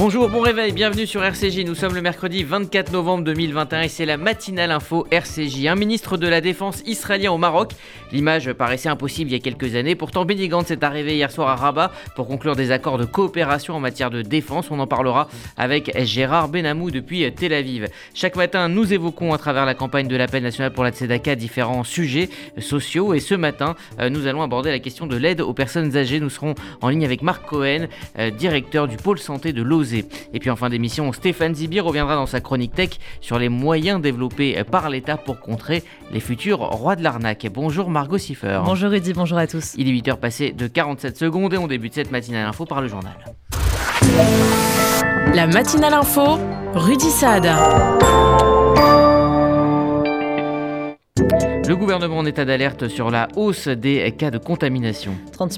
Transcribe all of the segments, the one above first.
Bonjour, bon réveil, bienvenue sur RCJ. Nous sommes le mercredi 24 novembre 2021 et c'est la matinale info RCJ. Un ministre de la Défense israélien au Maroc. L'image paraissait impossible il y a quelques années. Pourtant, Benny Gantz est arrivé hier soir à Rabat pour conclure des accords de coopération en matière de défense. On en parlera avec Gérard Benamou depuis Tel Aviv. Chaque matin, nous évoquons à travers la campagne de l'appel national pour la Tzedaka différents sujets sociaux. Et ce matin, nous allons aborder la question de l'aide aux personnes âgées. Nous serons en ligne avec Marc Cohen, directeur du pôle santé de l'OSE. Et puis en fin d'émission, Stéphane Zibi reviendra dans sa chronique tech sur les moyens développés par l'État pour contrer les futurs rois de l'arnaque. Bonjour Margot Siffer. Bonjour Rudy, bonjour à tous. Il est 8h passé de 47 secondes et on débute cette matinale info par le journal. La matinale info, Rudy Saad. Le gouvernement en état d'alerte sur la hausse des cas de contamination. 30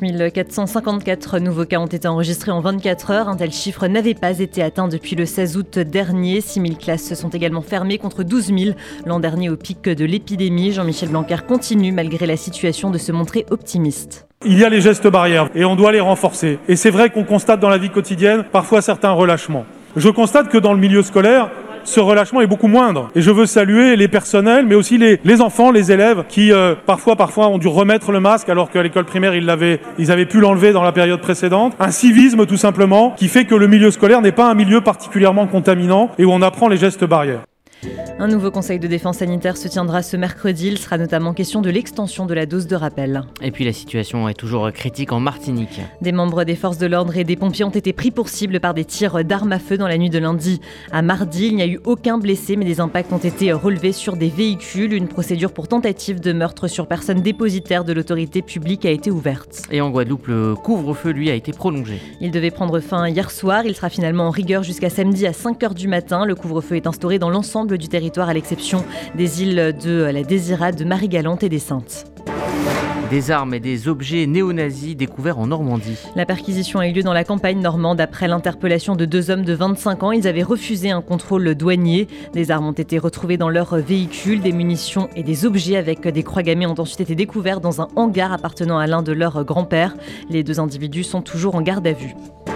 454 nouveaux cas ont été enregistrés en 24 heures. Un tel chiffre n'avait pas été atteint depuis le 16 août dernier. 6 000 classes sont également fermées contre 12 000 l'an dernier au pic de l'épidémie. Jean-Michel Blanquer continue malgré la situation de se montrer optimiste. Il y a les gestes barrières et on doit les renforcer. Et c'est vrai qu'on constate dans la vie quotidienne parfois certains relâchements. Je constate que dans le milieu scolaire, ce relâchement est beaucoup moindre. Et je veux saluer les personnels, mais aussi les enfants, les élèves qui parfois ont dû remettre le masque alors qu'à l'école primaire ils avaient pu l'enlever dans la période précédente. Un civisme tout simplement qui fait que le milieu scolaire n'est pas un milieu particulièrement contaminant et où on apprend les gestes barrières. Un nouveau conseil de défense sanitaire se tiendra ce mercredi. Il sera notamment question de l'extension de la dose de rappel. Et puis la situation est toujours critique en Martinique. Des membres des forces de l'ordre et des pompiers ont été pris pour cible par des tirs d'armes à feu dans la nuit de lundi à mardi. Il n'y a eu aucun blessé, mais des impacts ont été relevés sur des véhicules. Une procédure pour tentative de meurtre sur personne dépositaire de l'autorité publique a été ouverte. Et en Guadeloupe, le couvre-feu, lui, a été prolongé. Il devait prendre fin hier soir. Il sera finalement en rigueur jusqu'à samedi à 5h du matin. Le couvre-feu est instauré dans l'ensemble du territoire à l'exception des îles de la Désirade, de Marie-Galante et des Saintes. Des armes et des objets néo-nazis découverts en Normandie. La perquisition a eu lieu dans la campagne normande après l'interpellation de 2 hommes de 25 ans. Ils avaient refusé un contrôle douanier. Des armes ont été retrouvées dans leur véhicule. Des munitions et des objets avec des croix gammées ont ensuite été découverts dans un hangar appartenant à l'un de leurs grands-pères. Les 2 individus sont toujours en garde à vue.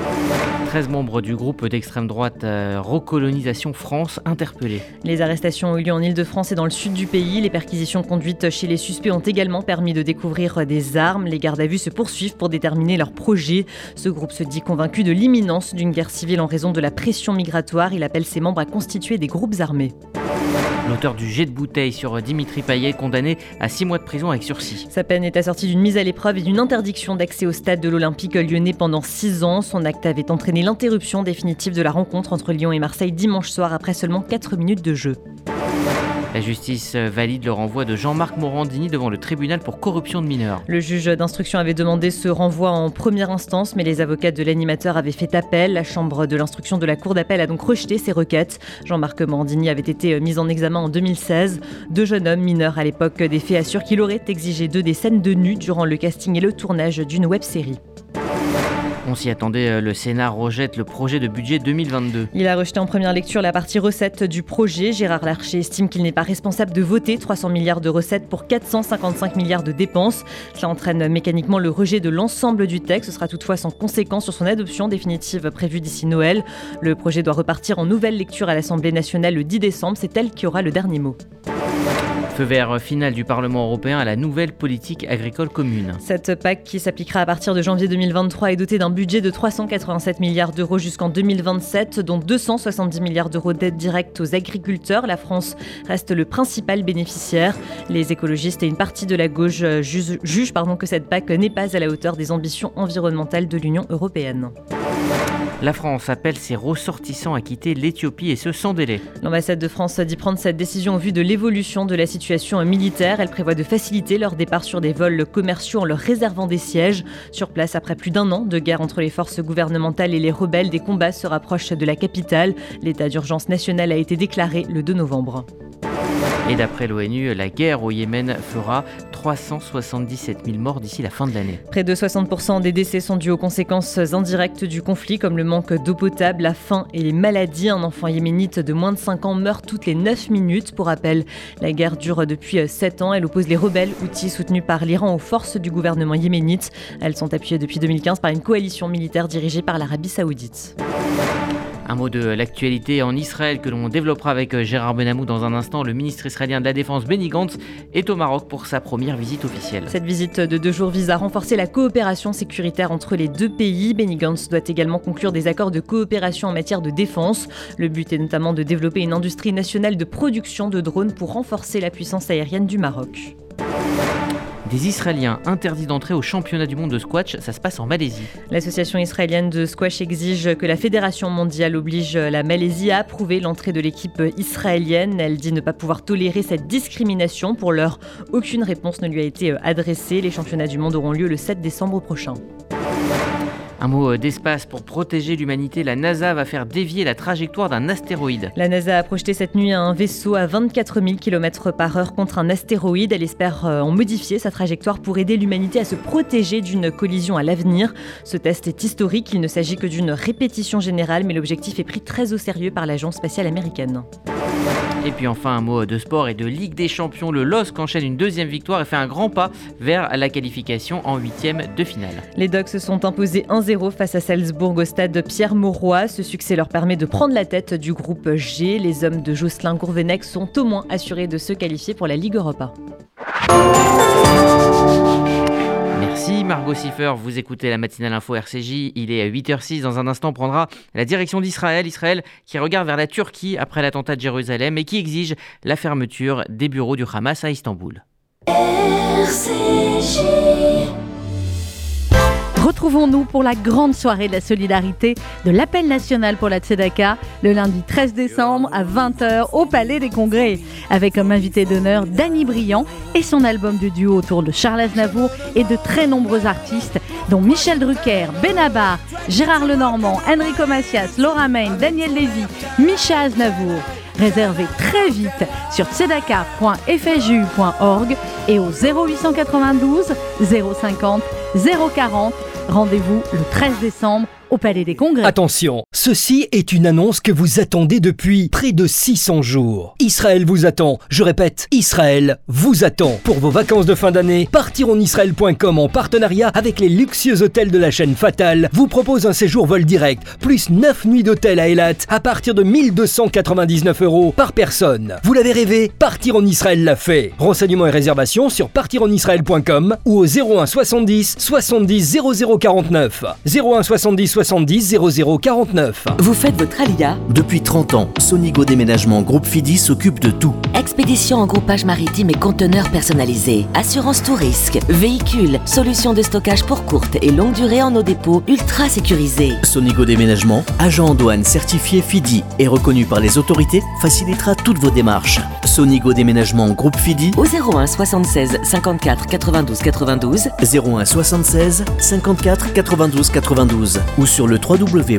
13 membres du groupe d'extrême droite Recolonisation France interpellés. Les arrestations ont eu lieu en Île-de-France et dans le sud du pays. Les perquisitions conduites chez les suspects ont également permis de découvrir des armes. Les gardes à vue se poursuivent pour déterminer leurs projets. Ce groupe se dit convaincu de l'imminence d'une guerre civile en raison de la pression migratoire. Il appelle ses membres à constituer des groupes armés. L'auteur du jet de bouteille sur Dimitri Payet, condamné à 6 mois de prison avec sursis. Sa peine est assortie d'une mise à l'épreuve et d'une interdiction d'accès au stade de l'Olympique lyonnais pendant 6 ans. Son acte avait entraîné l'interruption définitive de la rencontre entre Lyon et Marseille dimanche soir après seulement 4 minutes de jeu. La justice valide le renvoi de Jean-Marc Morandini devant le tribunal pour corruption de mineurs. Le juge d'instruction avait demandé ce renvoi en première instance, mais les avocats de l'animateur avaient fait appel. La chambre de l'instruction de la cour d'appel a donc rejeté ces requêtes. Jean-Marc Morandini avait été mis en examen en 2016. 2 jeunes hommes mineurs à l'époque des faits assurent qu'il aurait exigé d'eux des scènes de nu durant le casting et le tournage d'une web-série. On s'y attendait, le Sénat rejette le projet de budget 2022. Il a rejeté en première lecture la partie recettes du projet. Gérard Larcher estime qu'il n'est pas responsable de voter 300 milliards de recettes pour 455 milliards de dépenses. Cela entraîne mécaniquement le rejet de l'ensemble du texte. Ce sera toutefois sans conséquence sur son adoption définitive prévue d'ici Noël. Le projet doit repartir en nouvelle lecture à l'Assemblée nationale le 10 décembre. C'est elle qui aura le dernier mot. Feu vert final du Parlement européen à la nouvelle politique agricole commune. Cette PAC qui s'appliquera à partir de janvier 2023 est dotée d'un budget de 387 milliards d'euros jusqu'en 2027, dont 270 milliards d'euros d'aide directe aux agriculteurs. La France reste le principal bénéficiaire. Les écologistes et une partie de la gauche jugent que cette PAC n'est pas à la hauteur des ambitions environnementales de l'Union européenne. La France appelle ses ressortissants à quitter l'Éthiopie et ce sans délai. L'ambassade de France dit prendre cette décision au vu de l'évolution de la situation militaire. Elle prévoit de faciliter leur départ sur des vols commerciaux en leur réservant des sièges. Sur place, après plus d'1 an de guerre entre les forces gouvernementales et les rebelles, des combats se rapprochent de la capitale. L'état d'urgence national a été déclaré le 2 novembre. Et d'après l'ONU, la guerre au Yémen fera 377 000 morts d'ici la fin de l'année. Près de 60% des décès sont dus aux conséquences indirectes du conflit, comme le manque d'eau potable, la faim et les maladies. Un enfant yéménite de moins de 5 ans meurt toutes les 9 minutes. Pour rappel, la guerre dure depuis 7 ans. Elle oppose les rebelles houthis soutenus par l'Iran aux forces du gouvernement yéménite. Elles sont appuyées depuis 2015 par une coalition militaire dirigée par l'Arabie Saoudite. Un mot de l'actualité en Israël que l'on développera avec Gérard Benamou dans un instant. Le ministre israélien de la Défense Benny Gantz est au Maroc pour sa première visite officielle. Cette visite de 2 jours vise à renforcer la coopération sécuritaire entre les deux pays. Benny Gantz doit également conclure des accords de coopération en matière de défense. Le but est notamment de développer une industrie nationale de production de drones pour renforcer la puissance aérienne du Maroc. Des Israéliens interdits d'entrer au championnat du monde de squash, ça se passe en Malaisie. L'association israélienne de squash exige que la Fédération mondiale oblige la Malaisie à approuver l'entrée de l'équipe israélienne. Elle dit ne pas pouvoir tolérer cette discrimination. Pour l'heure, aucune réponse ne lui a été adressée. Les championnats du monde auront lieu le 7 décembre prochain. Un mot d'espace pour protéger l'humanité. La NASA va faire dévier la trajectoire d'un astéroïde. La NASA a projeté cette nuit un vaisseau à 24 000 km/h contre un astéroïde. Elle espère en modifier sa trajectoire pour aider l'humanité à se protéger d'une collision à l'avenir. Ce test est historique. Il ne s'agit que d'une répétition générale, mais l'objectif est pris très au sérieux par l'agence spatiale américaine. Et puis enfin un mot de sport et de Ligue des Champions. Le LOSC enchaîne une deuxième victoire et fait un grand pas vers la qualification en 8e de finale. Les Dogs se sont imposés 1-0 face à Salzbourg au stade Pierre-Mauroy. Ce succès leur permet de prendre la tête du groupe G. Les hommes de Jocelyn Gourvenec sont au moins assurés de se qualifier pour la Ligue Europa. Merci Margot Siffer, vous écoutez la matinale info RCJ, il est 8h06, dans un instant on prendra la direction d'Israël, Israël qui regarde vers la Turquie après l'attentat de Jérusalem et qui exige la fermeture des bureaux du Hamas à Istanbul. RCJ. Retrouvons-nous pour la grande soirée de la solidarité de l'appel national pour la Tzedaka le lundi 13 décembre à 20h au Palais des Congrès avec comme invité d'honneur Danny Briand et son album de duo autour de Charles Aznavour et de très nombreux artistes dont Michel Drucker, Benabar, Gérard Lenormand, Enrico Macias, Laura Main, Daniel Lévy, Micha Aznavour. Réservez très vite sur tzedaka.fju.org et au 0892 050 040. Rendez-vous le 13 décembre au Palais des Congrès. Attention, ceci est une annonce que vous attendez depuis près de 600 jours. Israël vous attend, je répète, Israël vous attend. Pour vos vacances de fin d'année, partironisraël.com en partenariat avec les luxueux hôtels de la chaîne Fatal vous propose un séjour vol direct, plus 9 nuits d'hôtel à Eilat à partir de 1 299 € par personne. Vous l'avez rêvé, Partir en Israël l'a fait. Renseignements et réservations sur partironisraël.com ou au 01 70 70 00 49. 01 70 70 00 49. Vous faites votre Alia ? Depuis 30 ans, Sonigo Déménagement Groupe Fidi s'occupe de tout. Expédition en groupage maritime et conteneurs personnalisés. Assurance tout risque. Véhicules. Solutions de stockage pour courte et longue durée en nos dépôts ultra sécurisés. Sonigo Déménagement, agent en douane certifié Fidi et reconnu par les autorités, facilitera toutes vos démarches. Sonigo Déménagement Groupe Fidi au 01 76 54 92 92. 01 76 54 92 92 ou sur le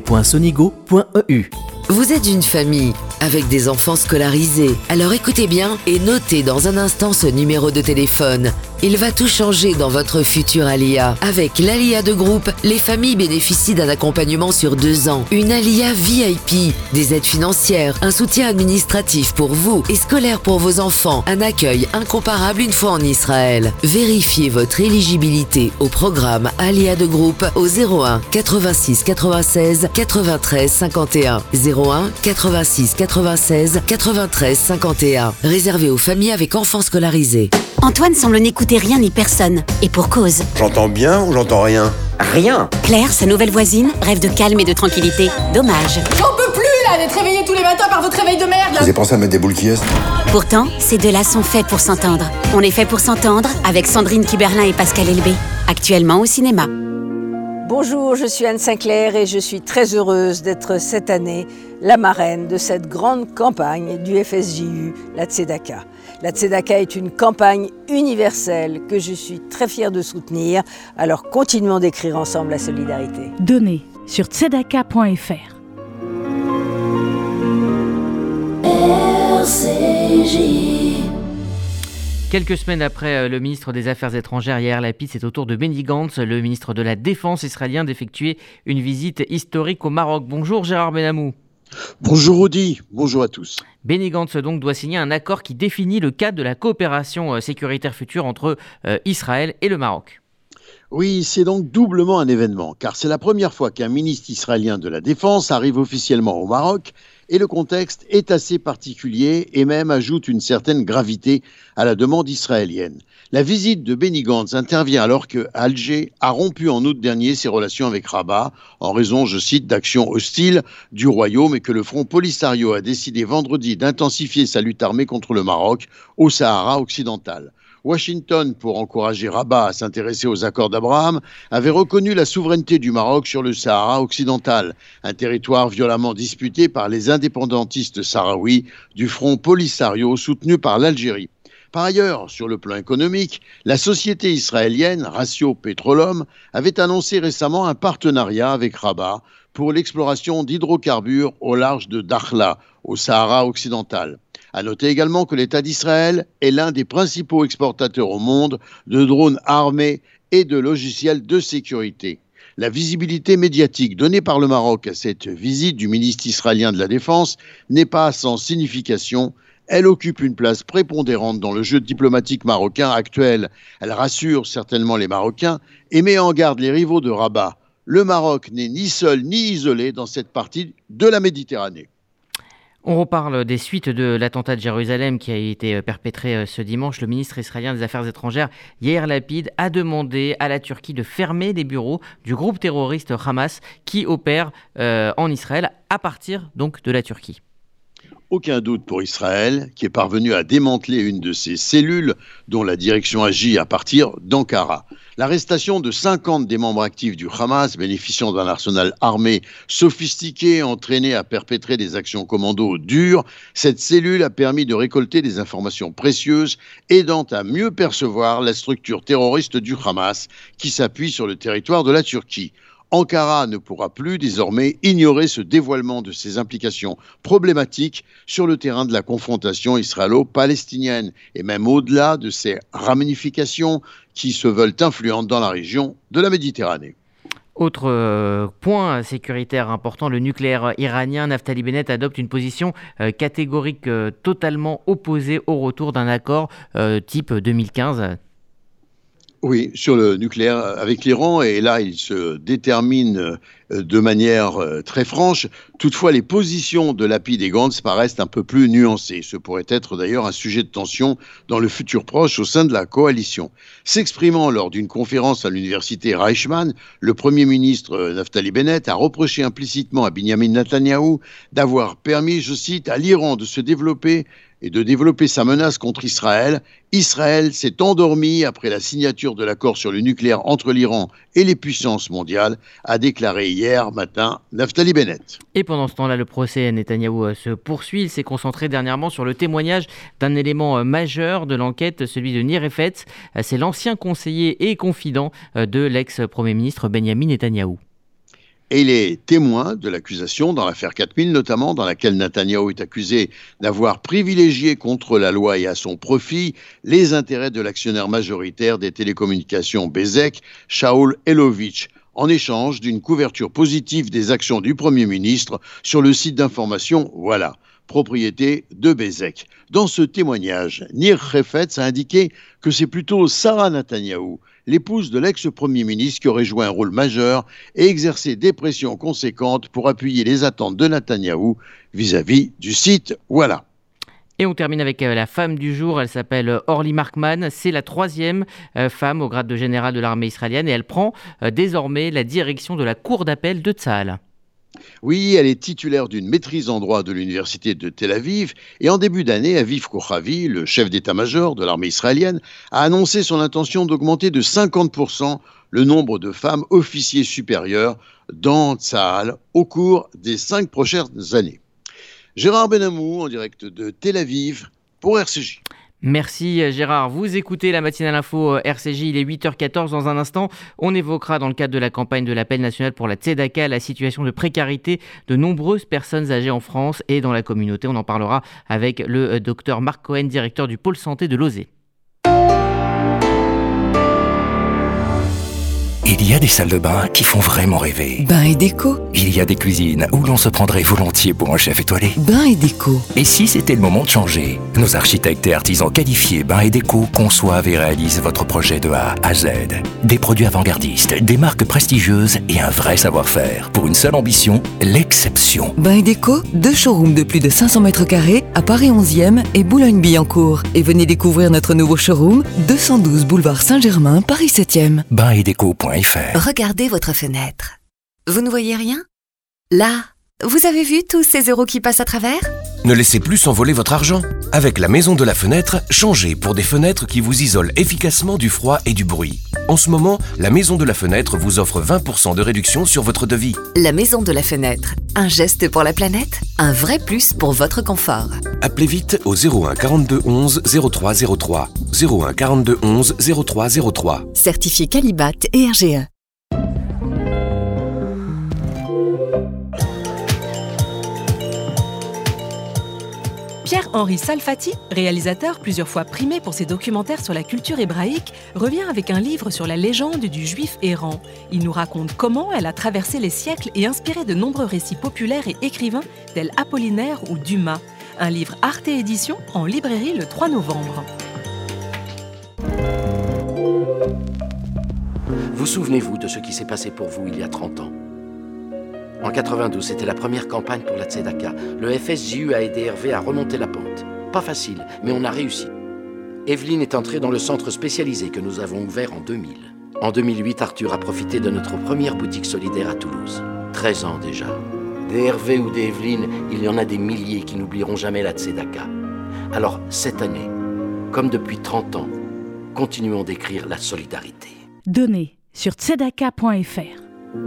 www.sonigo.eu. Vous êtes une famille avec des enfants scolarisés. Alors écoutez bien et notez dans un instant ce numéro de téléphone. Il va tout changer dans votre futur Alia. Avec l'Alia de groupe, les familles bénéficient d'un accompagnement sur 2 ans. Une Alia VIP, des aides financières, un soutien administratif pour vous et scolaire pour vos enfants, un accueil incomparable une fois en Israël. Vérifiez votre éligibilité au programme Alia de groupe au 01 86 96 93 51. 01 86 96 93 51. Réservé aux familles avec enfants scolarisés. Antoine semble n'écouter rien ni personne. Et pour cause. J'entends bien ou j'entends rien ? Rien. Claire, sa nouvelle voisine, rêve de calme et de tranquillité. Dommage. J'en peux plus là d'être réveillée tous les matins par votre réveil de merde là. Vous avez pensé à mettre des boules qui est ? Pourtant, ces deux-là sont faits pour s'entendre. On est fait pour s'entendre avec Sandrine Kiberlin et Pascal Elbé. Actuellement au cinéma. Bonjour, je suis Anne Sinclair et je suis très heureuse d'être cette année la marraine de cette grande campagne du FSJU, la Tzedaka. La Tzedaka est une campagne universelle que je suis très fière de soutenir, alors continuons d'écrire ensemble la solidarité. Donnez sur tzedaka.fr. RCJ. Quelques semaines après le ministre des Affaires étrangères Yair Lapid, c'est au tour de Benny Gantz, le ministre de la Défense israélien, d'effectuer une visite historique au Maroc. Bonjour Gérard Benamou. Bonjour Audi, bonjour à tous. Benny Gantz donc doit signer un accord qui définit le cadre de la coopération sécuritaire future entre Israël et le Maroc. Oui, c'est donc doublement un événement, car c'est la première fois qu'un ministre israélien de la Défense arrive officiellement au Maroc, et le contexte est assez particulier et même ajoute une certaine gravité à la demande israélienne. La visite de Benny Gantz intervient alors que Alger a rompu en août dernier ses relations avec Rabat, en raison, je cite, d'actions hostiles du royaume, et que le Front Polisario a décidé vendredi d'intensifier sa lutte armée contre le Maroc au Sahara occidental. Washington, pour encourager Rabat à s'intéresser aux accords d'Abraham, avait reconnu la souveraineté du Maroc sur le Sahara occidental, un territoire violemment disputé par les indépendantistes sahraouis du Front Polisario soutenu par l'Algérie. Par ailleurs, sur le plan économique, la société israélienne Ratio Petroleum avait annoncé récemment un partenariat avec Rabat pour l'exploration d'hydrocarbures au large de Dakhla, au Sahara occidental. À noter également que l'État d'Israël est l'un des principaux exportateurs au monde de drones armés et de logiciels de sécurité. La visibilité médiatique donnée par le Maroc à cette visite du ministre israélien de la Défense n'est pas sans signification. Elle occupe une place prépondérante dans le jeu diplomatique marocain actuel. Elle rassure certainement les Marocains et met en garde les rivaux de Rabat. Le Maroc n'est ni seul ni isolé dans cette partie de la Méditerranée. On reparle des suites de l'attentat de Jérusalem qui a été perpétré ce dimanche. Le ministre israélien des Affaires étrangères, Yair Lapid, a demandé à la Turquie de fermer les bureaux du groupe terroriste Hamas qui opère en Israël à partir donc de la Turquie. Aucun doute pour Israël, qui est parvenu à démanteler une de ses cellules dont la direction agit à partir d'Ankara. L'arrestation de 50 des membres actifs du Hamas, bénéficiant d'un arsenal armé sophistiqué, entraîné à perpétrer des actions commando dures, cette cellule a permis de récolter des informations précieuses, aidant à mieux percevoir la structure terroriste du Hamas, qui s'appuie sur le territoire de la Turquie. Ankara ne pourra plus désormais ignorer ce dévoilement de ses implications problématiques sur le terrain de la confrontation israélo-palestinienne et même au-delà de ses ramifications qui se veulent influentes dans la région de la Méditerranée. Autre point sécuritaire important, le nucléaire iranien. Naftali Bennett adopte une position catégorique totalement opposée au retour d'un accord type 2015. Oui, sur le nucléaire avec l'Iran, et là il se détermine de manière très franche. Toutefois, les positions de Lapid et Gantz paraissent un peu plus nuancées. Ce pourrait être d'ailleurs un sujet de tension dans le futur proche au sein de la coalition. S'exprimant lors d'une conférence à l'université Reichmann, le Premier ministre Naftali Bennett a reproché implicitement à Benyamin Netanyahou d'avoir permis, je cite, à l'Iran de se développer et de développer sa menace contre Israël. Israël s'est endormi après la signature de l'accord sur le nucléaire entre l'Iran et les puissances mondiales, a déclaré hier matin Naftali Bennett. Et pendant ce temps-là, le procès Netanyahou se poursuit. Il s'est concentré dernièrement sur le témoignage d'un élément majeur de l'enquête, celui de Nir Efetz. C'est l'ancien conseiller et confident de l'ex-premier ministre Benyamin Netanyahou. Et il est témoin de l'accusation dans l'affaire 4000 notamment, dans laquelle Netanyahou est accusé d'avoir privilégié contre la loi et à son profit les intérêts de l'actionnaire majoritaire des télécommunications Bezek, Shaul Elovitch, en échange d'une couverture positive des actions du Premier ministre sur le site d'information Voilà, propriété de Bezek. Dans ce témoignage, Nir Efetz a indiqué que c'est plutôt Sarah Netanyahou, l'épouse de l'ex-premier ministre, qui aurait joué un rôle majeur et exercé des pressions conséquentes pour appuyer les attentes de Netanyahou vis-à-vis du site Voilà. Et on termine avec la femme du jour. Elle s'appelle Orly Markman. C'est la 3e femme au grade de général de l'armée israélienne et elle prend désormais la direction de la cour d'appel de Tsahal. Oui, elle est titulaire d'une maîtrise en droit de l'université de Tel Aviv et en début d'année, Aviv Kochavi, le chef d'état-major de l'armée israélienne, a annoncé son intention d'augmenter de 50% le nombre de femmes officiers supérieurs dans Tsahal au cours des 5 prochaines années. Gérard Benamou en direct de Tel Aviv pour RCJ. Merci Gérard. Vous écoutez la matinale info RCJ, il est 8h14. Dans un instant, on évoquera dans le cadre de la campagne de l'appel national pour la Tzedaka la situation de précarité de nombreuses personnes âgées en France et dans la communauté. On en parlera avec le docteur Marc Cohen, directeur du pôle santé de Lozé. Il y a des salles de bain qui font vraiment rêver. Bain et déco. Il y a des cuisines où l'on se prendrait volontiers pour un chef étoilé. Bain et déco. Et si c'était le moment de changer? Nos architectes et artisans qualifiés Bain et déco conçoivent et réalisent votre projet de A à Z. Des produits avant-gardistes, des marques prestigieuses et un vrai savoir-faire. Pour une seule ambition, l'exception. Bain et déco, 2 showrooms de plus de 500 mètres carrés à Paris 11e et Boulogne-Billancourt. Et venez découvrir notre nouveau showroom, 212 boulevard Saint-Germain, Paris 7e. Bainetdeco.fr. Regardez votre fenêtre. Vous ne voyez rien? Là, vous avez vu tous ces euros qui passent à travers? Ne laissez plus s'envoler votre argent. Avec la Maison de la Fenêtre, changez pour des fenêtres qui vous isolent efficacement du froid et du bruit. En ce moment, la Maison de la Fenêtre vous offre 20% de réduction sur votre devis. La Maison de la Fenêtre. Un geste pour la planète, un vrai plus pour votre confort. Appelez vite au 01 42 11 03 03. 01 42 11 03 03. Certifié Qualibat et RGE. Pierre-Henri Salfati, réalisateur plusieurs fois primé pour ses documentaires sur la culture hébraïque, revient avec un livre sur la légende du juif errant. Il nous raconte comment elle a traversé les siècles et inspiré de nombreux récits populaires et écrivains tels Apollinaire ou Dumas. Un livre Arte Édition en librairie le 3 novembre. Vous souvenez-vous de ce qui s'est passé pour vous il y a 30 ans? En 92, c'était la première campagne pour la Tzedaka. Le FSJU a aidé Hervé à remonter la pente. Pas facile, mais on a réussi. Evelyne est entrée dans le centre spécialisé que nous avons ouvert en 2000. En 2008, Arthur a profité de notre première boutique solidaire à Toulouse. 13 ans déjà. Des Hervé ou des Evelyne, il y en a des milliers qui n'oublieront jamais la Tzedaka. Alors, cette année, comme depuis 30 ans, continuons d'écrire la solidarité. Donnez sur tzedaka.fr.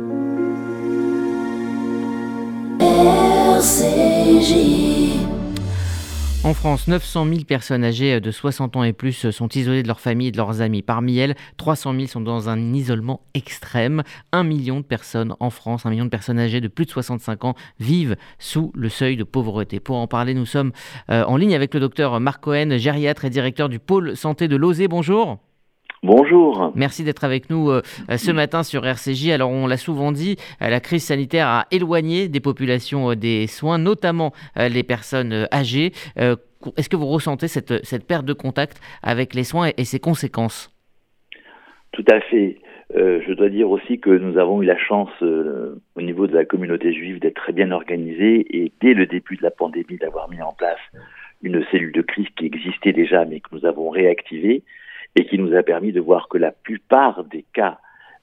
En France, 900 000 personnes âgées de 60 ans et plus sont isolées de leur famille et de leurs amis. Parmi elles, 300 000 sont dans un isolement extrême. 1 million de personnes en France, 1 million de personnes âgées de plus de 65 ans vivent sous le seuil de pauvreté. Pour en parler, nous sommes en ligne avec le docteur Marc Cohen, gériatre et directeur du pôle santé de Lozé. Bonjour. Bonjour. Merci d'être avec nous ce matin sur RCJ. Alors, on l'a souvent dit, la crise sanitaire a éloigné des populations des soins, notamment les personnes âgées. Est-ce que vous ressentez cette perte de contact avec les soins et ses conséquences? Tout à fait. Je dois dire aussi que nous avons eu la chance, au niveau de la communauté juive, d'être très bien organisés et dès le début de la pandémie, d'avoir mis en place une cellule de crise qui existait déjà, mais que nous avons réactivée, et qui nous a permis de voir que la plupart des cas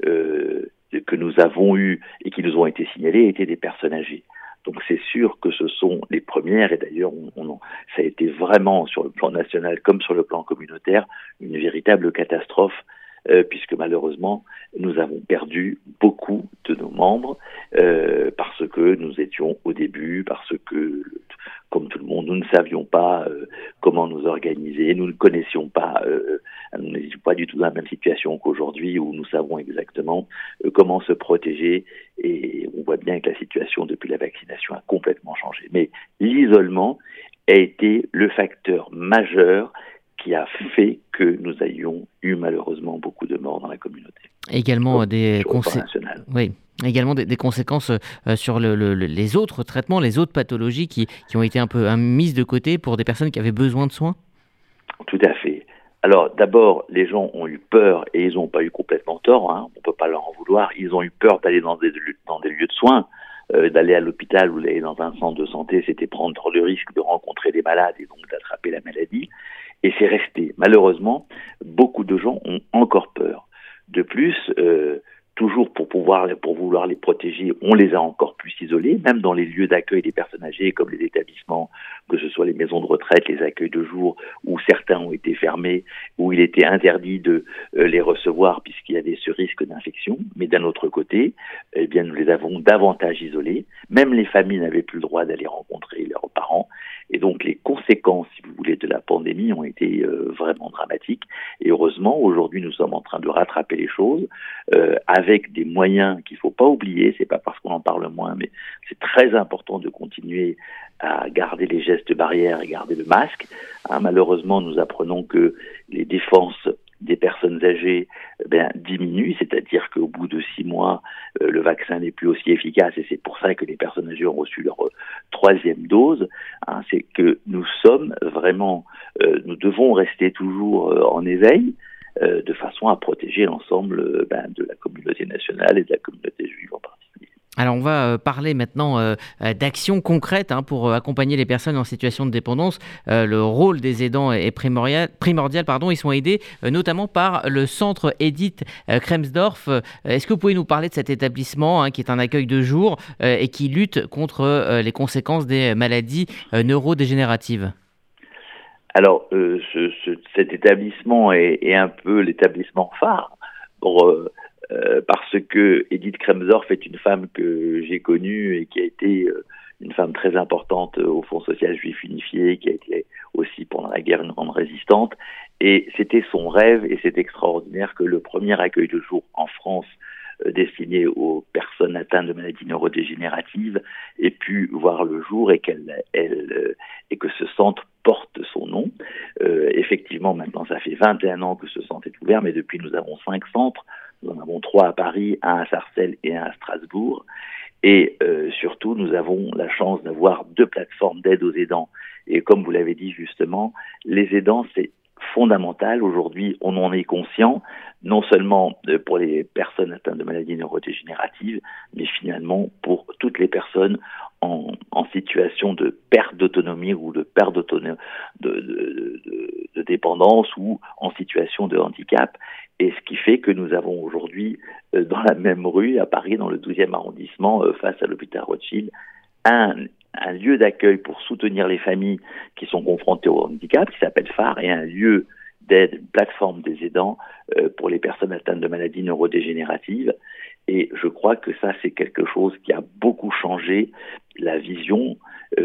que nous avons eus et qui nous ont été signalés étaient des personnes âgées. Donc c'est sûr que ce sont les premières, et d'ailleurs ça a été vraiment sur le plan national comme sur le plan communautaire une véritable catastrophe, puisque malheureusement nous avons perdu beaucoup de nos membres parce que nous étions au début, parce que comme tout le monde, nous ne savions pas comment nous organiser, nous ne connaissions pas, nous n'étions pas du tout dans la même situation qu'aujourd'hui où nous savons exactement comment se protéger, et on voit bien que la situation depuis la vaccination a complètement changé. Mais l'isolement a été le facteur majeur qui a fait que nous ayons eu malheureusement beaucoup de morts dans la communauté. Également des conséquences sur les autres traitements, les autres pathologies qui ont été un peu mises de côté pour des personnes qui avaient besoin de soins. Tout à fait. Alors d'abord, les gens ont eu peur, et ils n'ont pas eu complètement tort, on ne peut pas leur en vouloir, ils ont eu peur d'aller dans des lieux de soins, d'aller à l'hôpital ou d'aller dans un centre de santé, c'était prendre le risque de rencontrer des malades et donc d'attraper la maladie. Et c'est resté. Malheureusement, beaucoup de gens ont encore peur. De plus, toujours pour vouloir les protéger, on les a encore plus isolés, même dans les lieux d'accueil des personnes âgées, comme les établissements, que ce soit les maisons de retraite, les accueils de jour, où certains ont été fermés, où il était interdit de les recevoir puisqu'il y avait ce risque d'infection. Mais d'un autre côté, eh bien, nous les avons davantage isolés. Même les familles n'avaient plus le droit d'aller rencontrer leurs parents. Et donc, les conséquences, si vous voulez, de la pandémie ont été vraiment dramatiques. Et heureusement, aujourd'hui, nous sommes en train de rattraper les choses avec des moyens qu'il ne faut pas oublier. C'est pas parce qu'on en parle moins, mais c'est très important de continuer à garder les gestes barrières et garder le masque. Malheureusement, nous apprenons que les défenses des personnes âgées diminue, c'est-à-dire qu'au bout de 6 mois, le vaccin n'est plus aussi efficace et c'est pour ça que les personnes âgées ont reçu leur 3e dose. C'est que nous sommes vraiment, nous devons rester toujours en éveil de façon à protéger l'ensemble de la communauté nationale et de la communauté juive en particulier. Alors on va parler maintenant d'actions concrètes pour accompagner les personnes en situation de dépendance. Le rôle des aidants est primordial. Ils sont aidés notamment par le centre Edith Kremsdorf. Est-ce que vous pouvez nous parler de cet établissement qui est un accueil de jour et qui lutte contre les conséquences des maladies neurodégénératives ? Alors cet établissement est un peu l'établissement phare parce que Edith Kremsdorf est une femme que j'ai connue et qui a été une femme très importante au Fonds social juif unifié, qui a été aussi pendant la guerre une grande résistante. Et c'était son rêve, et c'est extraordinaire que le premier accueil de jour en France destiné aux personnes atteintes de maladies neurodégénératives ait pu voir le jour et que ce centre porte son nom. Effectivement, maintenant, ça fait 21 ans que ce centre est ouvert, mais depuis, nous avons 5 centres. Nous en avons 3 à Paris, 1 à Sarcelles et 1 à Strasbourg. Et surtout, nous avons la chance d'avoir 2 plateformes d'aide aux aidants. Et comme vous l'avez dit justement, les aidants, c'est fondamental. Aujourd'hui, on en est conscient, non seulement pour les personnes atteintes de maladies neurodégénératives, mais finalement pour toutes les personnes en situation de perte d'autonomie ou de perte de dépendance ou en situation de handicap. Et ce qui fait que nous avons aujourd'hui, dans la même rue, à Paris, dans le 12e arrondissement, face à l'hôpital Rothschild, un lieu d'accueil pour soutenir les familles qui sont confrontées au handicap, qui s'appelle phare, et un lieu d'aide, une plateforme des aidants pour les personnes atteintes de maladies neurodégénératives. Et je crois que ça, c'est quelque chose qui a beaucoup changé la vision.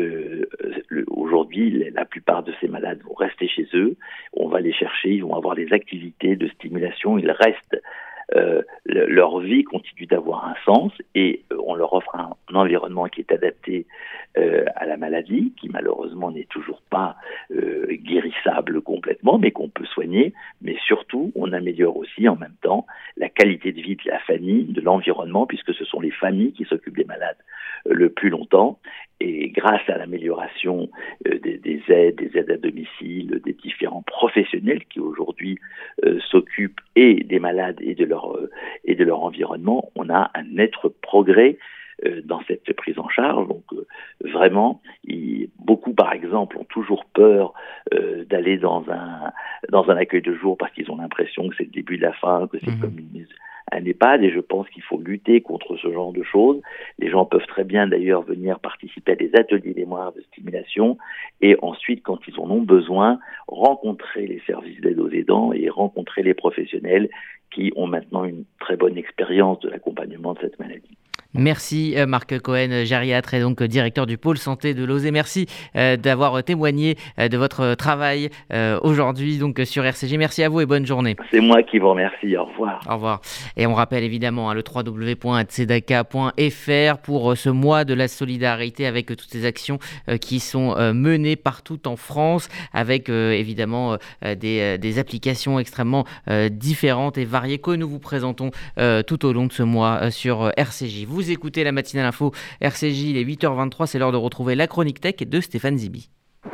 Aujourd'hui, la plupart de ces malades vont rester chez eux. On va les chercher, ils vont avoir des activités de stimulation. Ils restent, leur vie continue d'avoir un sens et on leur offre un environnement qui est adapté à la maladie, qui malheureusement n'est toujours pas guérissable complètement, mais qu'on peut soigner. Mais surtout, on améliore aussi en même temps la qualité de vie de la famille, de l'environnement, puisque ce sont les familles qui s'occupent des malades le plus longtemps. Et grâce à l'amélioration des aides à domicile, des différents professionnels qui aujourd'hui s'occupent et des malades et de leur environnement, on a un net progrès dans cette prise en charge. Donc vraiment, beaucoup par exemple ont toujours peur d'aller dans un accueil de jour parce qu'ils ont l'impression que c'est le début de la fin, que c'est comme un EHPAD, et je pense qu'il faut lutter contre ce genre de choses. Les gens peuvent très bien d'ailleurs venir participer à des ateliers mémoire de stimulation et ensuite, quand ils en ont besoin, rencontrer les services d'aide aux aidants et rencontrer les professionnels qui ont maintenant une très bonne expérience de l'accompagnement de cette maladie. Merci Marc Cohen, gériatre et donc directeur du pôle santé de Lausée. Merci d'avoir témoigné de votre travail aujourd'hui donc sur RCJ. Merci à vous et bonne journée. C'est moi qui vous remercie. Au revoir. Au revoir. Et on rappelle évidemment le www.tzedaka.fr pour ce mois de la solidarité avec toutes ces actions qui sont menées partout en France avec évidemment des applications extrêmement différentes et variées que nous vous présentons tout au long de ce mois sur RCJ. Vous écoutez la matinale info RCJ, il est 8h23, c'est l'heure de retrouver la chronique tech de Stéphane Zibi.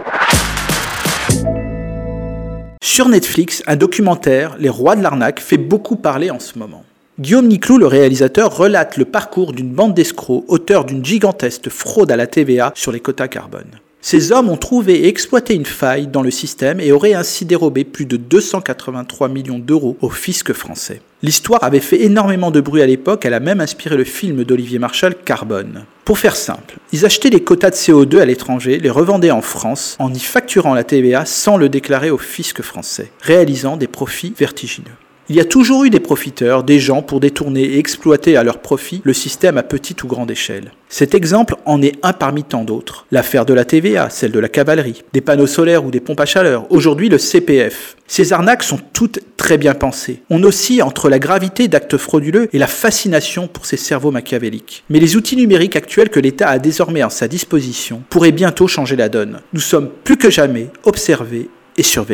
Sur Netflix, un documentaire, Les Rois de l'arnaque, fait beaucoup parler en ce moment. Guillaume Niclou, le réalisateur, relate le parcours d'une bande d'escrocs, auteurs d'une gigantesque fraude à la TVA sur les quotas carbone. Ces hommes ont trouvé et exploité une faille dans le système et auraient ainsi dérobé plus de 283 millions d'euros au fisc français. L'histoire avait fait énormément de bruit à l'époque, elle a même inspiré le film d'Olivier Marchal, Carbone. Pour faire simple, ils achetaient les quotas de CO2 à l'étranger, les revendaient en France, en y facturant la TVA sans le déclarer au fisc français, réalisant des profits vertigineux. Il y a toujours eu des profiteurs, des gens pour détourner et exploiter à leur profit le système à petite ou grande échelle. Cet exemple en est un parmi tant d'autres. L'affaire de la TVA, celle de la cavalerie, des panneaux solaires ou des pompes à chaleur, aujourd'hui le CPF. Ces arnaques sont toutes très bien pensées. On oscille entre la gravité d'actes frauduleux et la fascination pour ces cerveaux machiavéliques. Mais les outils numériques actuels que l'État a désormais à sa disposition pourraient bientôt changer la donne. Nous sommes plus que jamais observés et surveillés.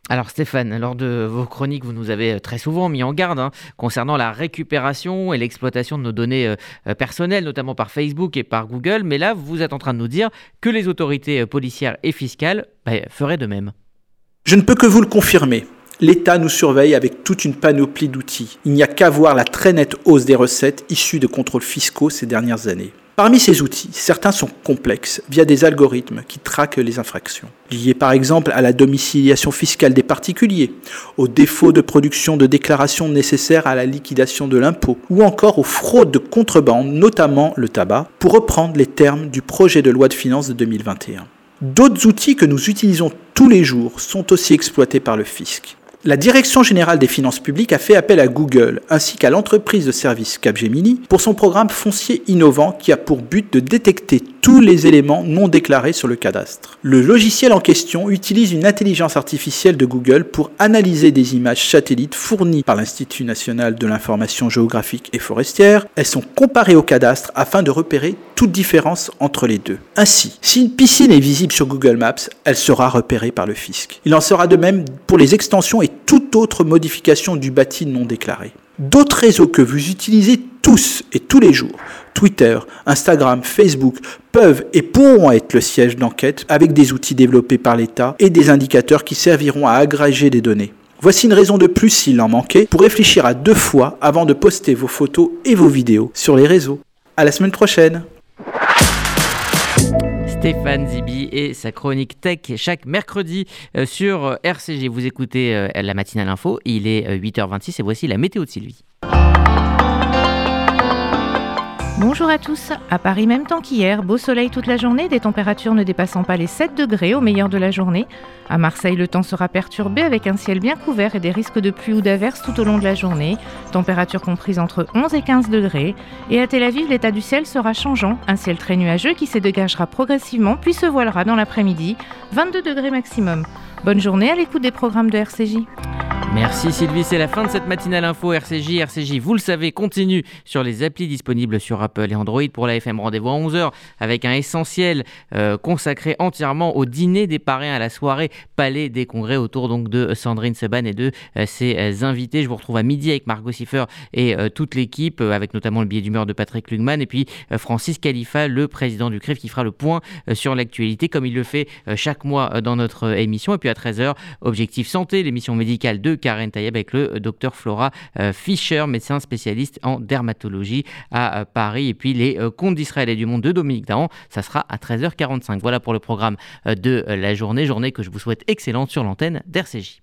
Alors Stéphane, lors de vos chroniques, vous nous avez très souvent mis en garde concernant la récupération et l'exploitation de nos données personnelles, notamment par Facebook et par Google. Mais là, vous êtes en train de nous dire que les autorités policières et fiscales feraient de même. Je ne peux que vous le confirmer. L'État nous surveille avec toute une panoplie d'outils. Il n'y a qu'à voir la très nette hausse des recettes issues de contrôles fiscaux ces dernières années. Parmi ces outils, certains sont complexes via des algorithmes qui traquent les infractions, liés par exemple à la domiciliation fiscale des particuliers, au défaut de production de déclarations nécessaires à la liquidation de l'impôt, ou encore aux fraudes de contrebande, notamment le tabac, pour reprendre les termes du projet de loi de finances de 2021. D'autres outils que nous utilisons tous les jours sont aussi exploités par le fisc. La Direction générale des finances publiques a fait appel à Google ainsi qu'à l'entreprise de services Capgemini pour son programme foncier innovant qui a pour but de détecter tous les éléments non déclarés sur le cadastre. Le logiciel en question utilise une intelligence artificielle de Google pour analyser des images satellites fournies par l'Institut national de l'information géographique et forestière. Elles sont comparées au cadastre afin de repérer toute différence entre les deux. Ainsi, si une piscine est visible sur Google Maps, elle sera repérée par le fisc. Il en sera de même pour les extensions et toute autre modification du bâti non déclaré. D'autres réseaux que vous utilisez tous et tous les jours, Twitter, Instagram, Facebook, peuvent et pourront être le siège d'enquête avec des outils développés par l'État et des indicateurs qui serviront à agréger des données. Voici une raison de plus, s'il en manquait, pour réfléchir à 2 fois avant de poster vos photos et vos vidéos sur les réseaux. À la semaine prochaine. Stéphane Zibi et sa chronique tech chaque mercredi sur RCG. Vous écoutez la matinale info, il est 8h26 et voici la météo de Sylvie. Bonjour à tous, à Paris même temps qu'hier, beau soleil toute la journée, des températures ne dépassant pas les 7 degrés au meilleur de la journée. À Marseille, le temps sera perturbé avec un ciel bien couvert et des risques de pluie ou d'averses tout au long de la journée. Température comprise entre 11 et 15 degrés. Et à Tel Aviv, l'état du ciel sera changeant, un ciel très nuageux qui se dégagera progressivement puis se voilera dans l'après-midi, 22 degrés maximum. Bonne journée à l'écoute des programmes de RCJ. Merci Sylvie, c'est la fin de cette matinale info RCJ. RCJ, vous le savez, continue sur les applis disponibles sur Apple et Android. Pour la FM, rendez-vous à 11h avec un essentiel consacré entièrement au dîner des parrains à la soirée Palais des Congrès autour donc de Sandrine Seban et de ses invités. Je vous retrouve à midi avec Margot Siffer et toute l'équipe, avec notamment le billet d'humeur de Patrick Lugman et puis Francis Khalifa, le président du CRIF, qui fera le point sur l'actualité comme il le fait chaque mois dans notre émission. Et puis à 13h, Objectif Santé, l'émission médicale de Karen Tayeb avec le docteur Flora Fischer, médecin spécialiste en dermatologie à Paris. Et puis les contes d'Israël et du monde de Dominique Dahan, ça sera à 13h45. Voilà pour le programme de la journée que je vous souhaite excellente sur l'antenne d'RCJ.